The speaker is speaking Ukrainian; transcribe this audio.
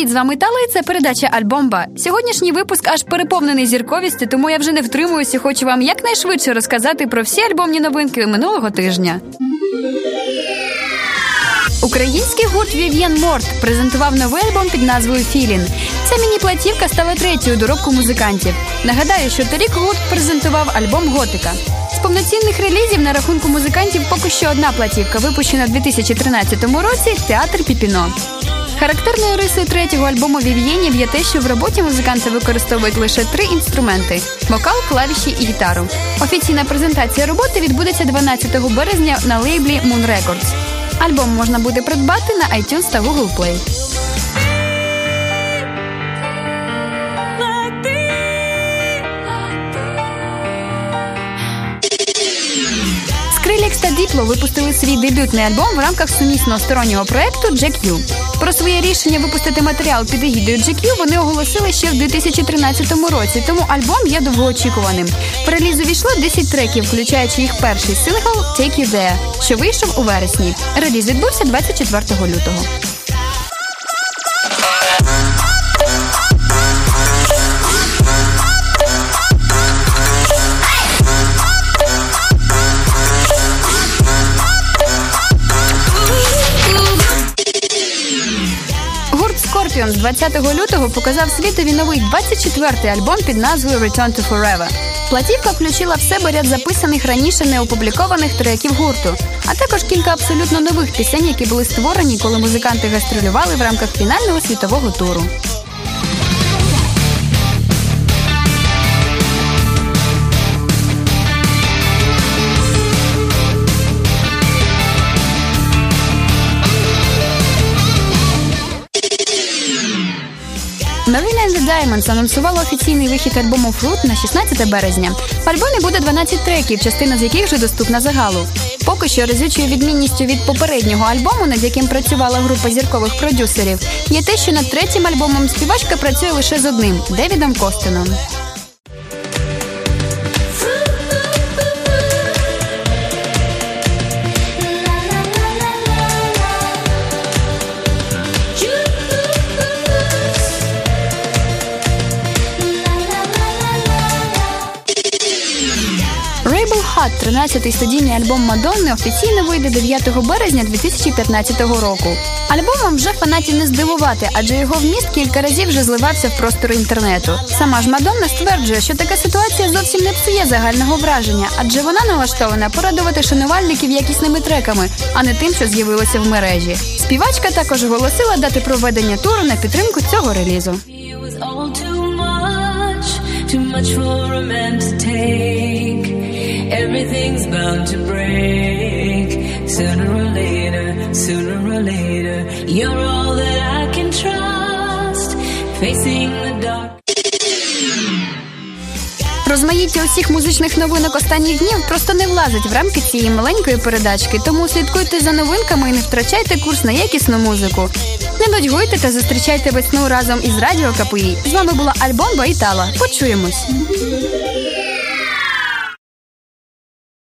Привіт, з вами Тала, і це передача «Альбомба». Сьогоднішній випуск аж переповнений зірковістю, тому я вже не втримуюся і хочу вам якнайшвидше розказати про всі альбомні новинки минулого тижня. Український гурт Вів'єн Морт презентував новий альбом під назвою «Філін». Ця міні-платівка стала третьою доробку музикантів. Нагадаю, що торік гурт презентував альбом «Готика». З повноцінних релізів на рахунку музикантів поки що одна платівка, випущена в 2013 році «Театр Піпіно». Характерною рисою третього альбому Вів'єнів є те, що в роботі музиканти використовують лише 3 інструменти – вокал, клавіші і гітару. Офіційна презентація роботи відбудеться 12 березня на лейблі Moon Records. Альбом можна буде придбати на iTunes та Google Play. Skrillex та Diplo випустили свій дебютний альбом в рамках сумісного стороннього проєкту GQ. Про своє рішення випустити матеріал під егідою GQ вони оголосили ще в 2013 році, тому альбом є довгоочікуваним. В реліз увійшло 10 треків, включаючи їх перший сингл «Take You There», що вийшов у вересні. Реліз відбувся 24 лютого. Scorpions 20 лютого показав світові новий 24-й альбом під назвою «Return to Forever». Платівка включила в себе ряд записаних раніше неопублікованих треків гурту, а також кілька абсолютно нових пісень, які були створені, коли музиканти гастролювали в рамках фінального світового туру. Marina and the Diamonds анонсувала офіційний вихід альбому Fruit на 16 березня. В альбомі буде 12 треків, частина з яких вже доступна загалу. Поки що разючою відмінністю від попереднього альбому, над яким працювала група зіркових продюсерів, є те, що над третім альбомом співачка працює лише з одним – Девідом Костеном. Hot, 13-й студійний альбом Мадонни, офіційно вийде 9 березня 2015 року. Альбомом вже фанатів не здивувати, адже його вміст кілька разів вже зливався в простори інтернету. Сама ж Мадонна стверджує, що така ситуація зовсім не псує загального враження, адже вона налаштована порадувати шанувальників якісними треками, а не тим, що з'явилося в мережі. Співачка також оголосила дати проведення туру на підтримку цього релізу. Everything's bound to break. Sooner or later, you're all that I can trust. Facing the dark. Розмаїття усіх музичних новинок останніх днів просто не влазить в рамки цієї маленької передачки, тому слідкуйте за новинками і не втрачайте курс на якісну музику. Не нудьгуйте та зустрічайте весну разом із Радіо КПІ. З вами була Альбомба і Тала. Почуємось!